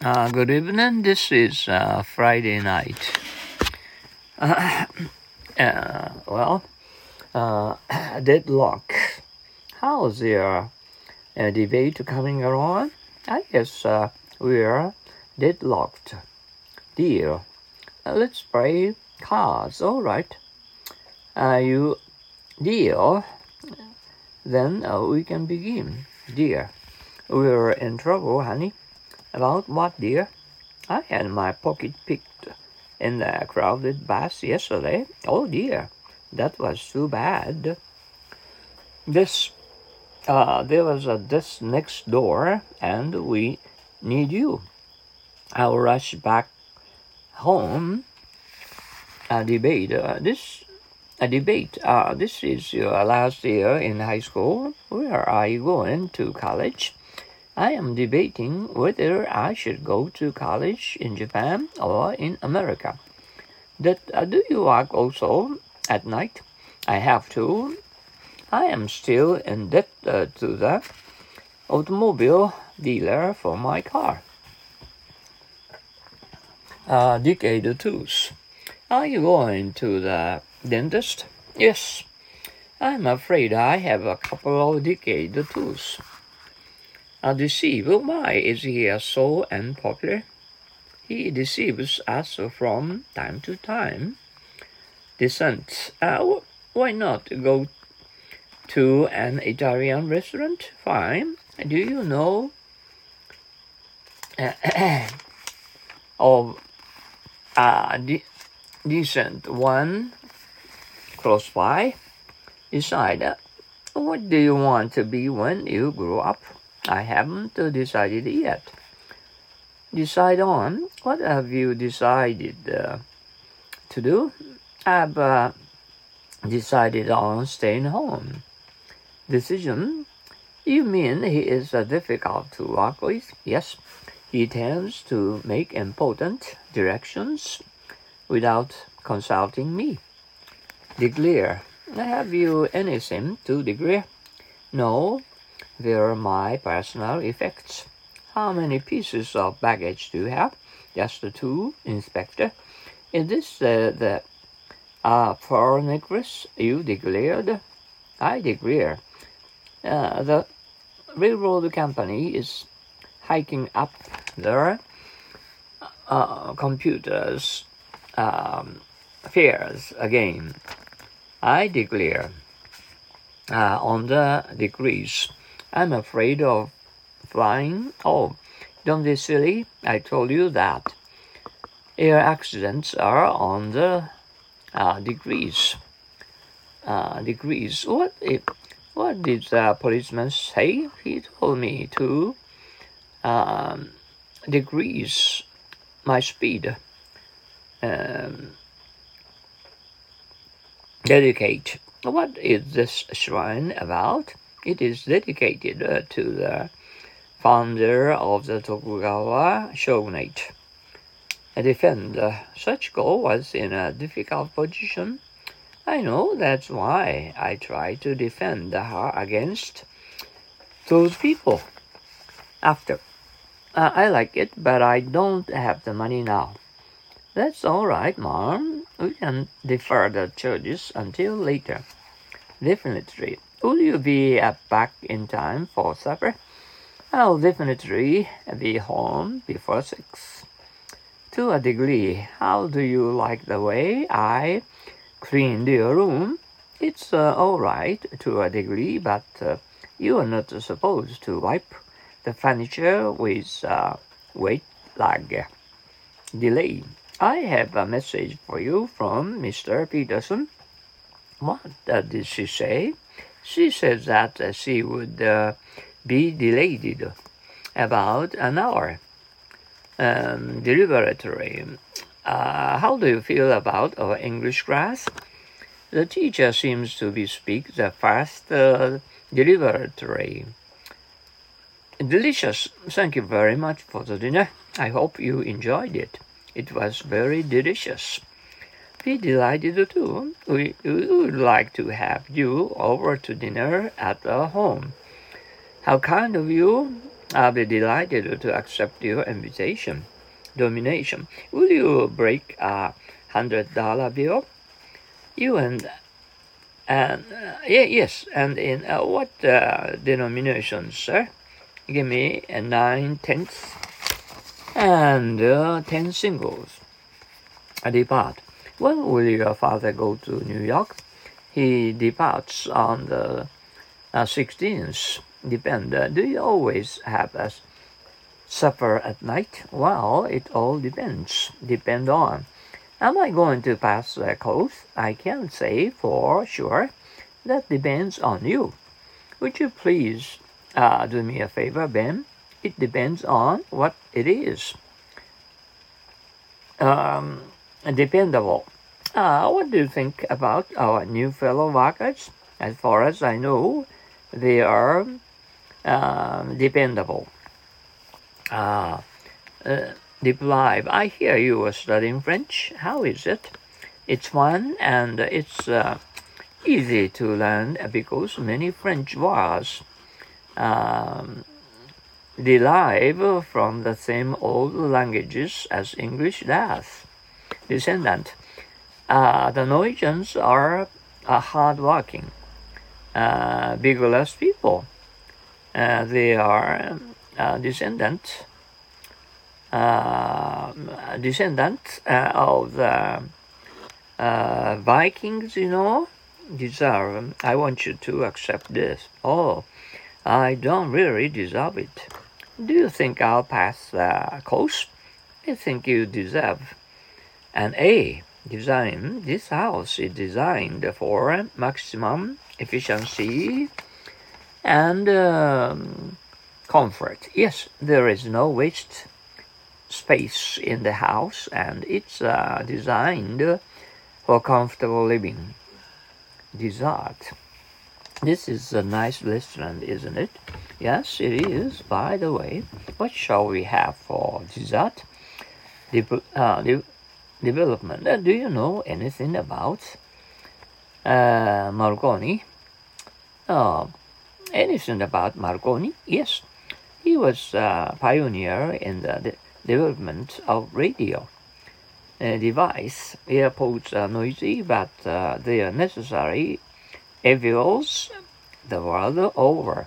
Good evening. This is Friday night. Uh, well, uh, Deadlock. How's your debate coming along? I guess we're deadlocked. Deal. Let's play cards. All right. You deal. Then we can begin. Dear, we're in trouble, honey. About what, dear? I had my pocket picked in the crowded bus yesterday. Oh dear, that was too bad. This, there was a desk next door, and we need you. I'll rush back home. A debate. This is your last year in high school. Where are you going to college? I am debating whether I should go to college in Japan or in America. Do you work also at night? I have to. I am still in debt to the automobile dealer for my car. Decade 2. Are you going to the dentist? Yes. I'm afraid I have a couple of decade 2s. Deceive, why is he so unpopular? He deceives us from time to time. Dissent. Why not go to an Italian restaurant? Fine. Do you know of a decent one close by? Decide. What do you want to be when you grow up? I haven't decided yet. Decide on. What have you decided to do? I've decided on staying home. Decision? You mean he is difficult to work with? Yes. He tends to make important directions without consulting me. Declare. Have you anything to declare? No. They're my personal effects. How many pieces of baggage do you have? Just 2, Inspector. Is this the pearl necklace you declared? I declare. The railroad company is hiking up their computers fares again. I declare. On the degrees. I'm afraid of flying. Oh, don't be silly. I told you that. Air accidents are on the degrees. Degrees. What did the policeman say? He told me to decrease my speed. Dedicate. What is this shrine about? It is dedicated to the founder of the Tokugawa shogunate. Defend. Sachiko was in a difficult position. I know, that's why I try to defend her against those people. After. I like it, but I don't have the money now. That's all right, Mom. We can defer the charges until later. Definitely. Will you be back in time for supper? I'll definitely be home before 6. To a degree. How do you like the way I cleaned your room? It's all right to a degree, but you are not supposed to wipe the furniture with wet rag. Delay. I have a message for you from Mr. Peterson. What did she say? She said that she would be delayed about an hour. Deliberatory. How do you feel about our English class? The teacher seems to be speak the fast deliberatory. Delicious. Thank you very much for the dinner. I hope you enjoyed it. It was very delicious. Be delighted too. We would like to have you over to dinner at our home. How kind of you. I'll be delighted to accept your invitation. Domination. Will you break $100 bill? You and yes, and in what denomination, sir? Give me a 9/10 and 10 singles. Depart. When will your father go to New York? He departs on the 16th. Depend. Do you always have a supper at night? Well, it all depends. Depend on. Am I going to pass the coast? I can't say for sure. That depends on you. Would you please do me a favor, Ben? It depends on what it is. Dependable. What do you think about our new fellow workers? As far as I know, they are dependable. Deprive. I hear you are studying French. How is it? It's fun and it's easy to learn because many French words derive from the same old languages as English does. Descendant. The Norwegians are hard-working, vigorous people. They are descendant of the Vikings, deserve. I want you to accept this. Oh, I don't really deserve it. Do you think I'll pass the course? I think you deserve an A. Design. This house is designed for maximum efficiency and comfort. Yes, there is no waste space in the house, and it's designed for comfortable living. Dessert. This is a nice restaurant, isn't it? Yes, it is. By the way, what shall we have for dessert? Development. Do you know anything about Marconi? Anything about Marconi? Yes, he was a pioneer in the development of radio device. Airports are noisy, but they are necessary evils the world over.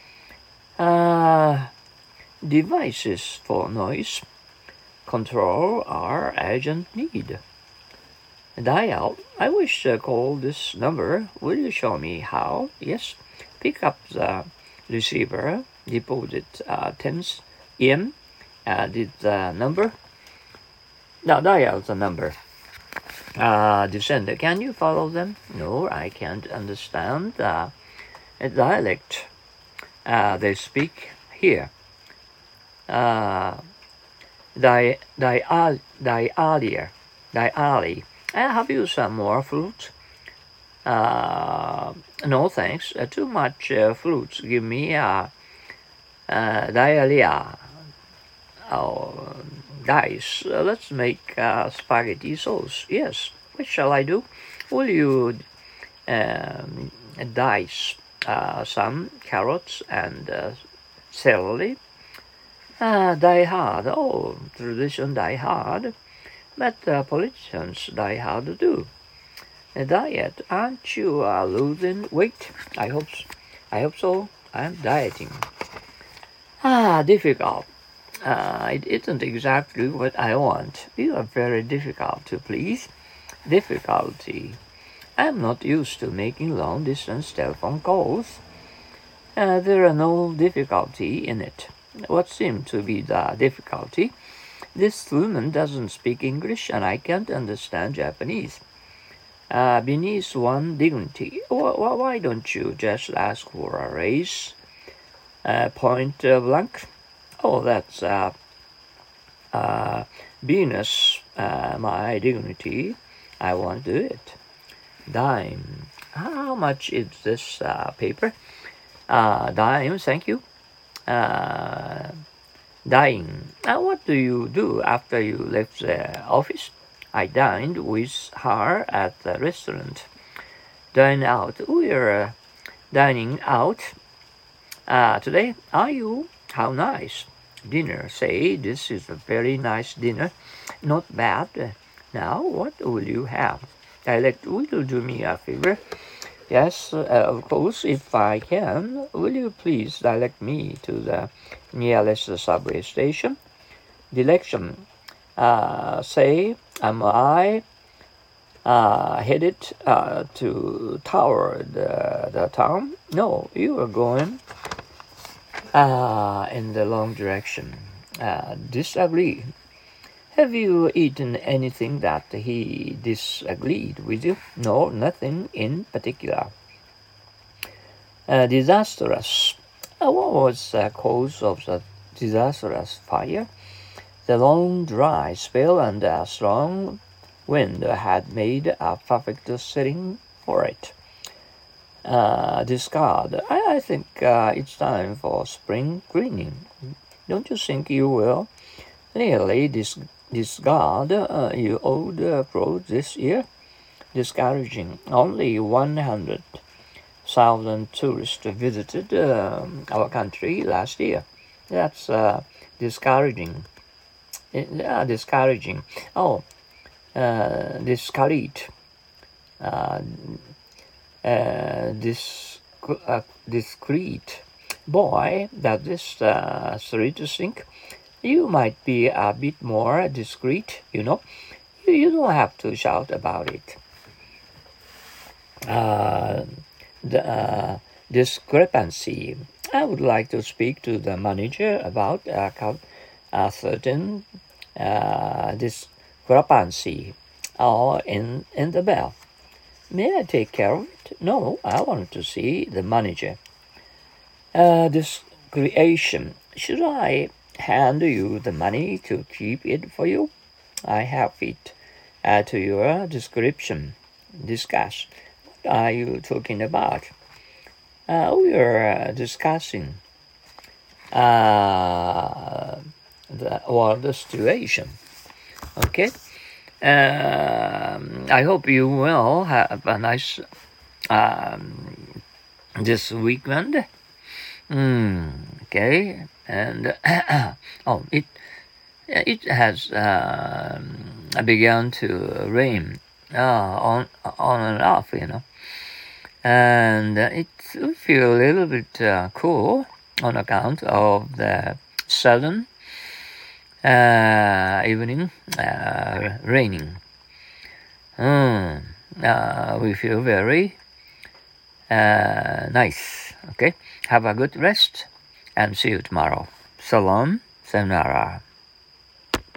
Devices for noise control are urgent need. Dial. I wish to call this number. Will you show me how? Yes. Pick up the receiver. Deposit 10 yen. Did the number? Now dial the number. Descender. Can you follow them? No, I can't understand a dialect they speak here. Diali. Have you some more fruit? No thanks. Too much fruits give me diarrhea. Oh, guys, let's make spaghetti sauce. Yes. What shall I do? Will you dice some carrots and celery? Die hard. Oh, tradition die hard. But politicians die hard too. A diet. Aren't you losing weight? I hope so. I'm dieting. Difficult. It isn't exactly what I want. You are very difficult to please. Difficulty. I'm not used to making long-distance telephone calls. There are no difficulty in it. What seemed to be the difficulty? This woman doesn't speak English and I can't understand Japanese. Beneath one dignity. Why don't you just ask for a raise? Point blank. Oh, that's Venus, my dignity. I won't do it. Dime. How much is this paper? Dime, thank you. Dying. What do you do after you left the office? I dined with her at the restaurant. Dine out. We're dining out today. Are you? How nice. Dinner. Say, this is a very nice dinner. Not bad. Now, what will you have? Dialect, will you do me a favor? Yes, of course, if I can. Will you please direct me to the nearest subway station? Direction. Say, am I headed toward the town? No, you are going in the wrong direction. Disagree. Have you eaten anything that he disagreed with you? No, nothing in particular. Disastrous. What was the cause of the disastrous fire? The long dry spell and a strong wind had made a perfect setting for it. Discard. I think it's time for spring cleaning. Don't you think you will? Really discard your old clothes this year? Discouraging. Only 100,000 tourists visited our country last year. That's discouraging. Discouraging. Oh, discourage. Discreet. Boy, that is sweet to think. You might be a bit more discreet, you know. You don't have to shout about it. The discrepancy. I would like to speak to the manager about a certain discrepancy in the bell. May I take care of it? No, I want to see the manager. This creation. Should I hand you the money to keep it for you? I have it to your description. Discuss. What are you talking about? We are discussing the situation. Okay. I hope you will have a nice this weekend. Okay, and oh, it has begun to rain on and off, you know, and it will feel a little bit cool on account of the sudden evening raining. We feel very nice. Okay, have a good rest and see you tomorrow. Salam, sayonara.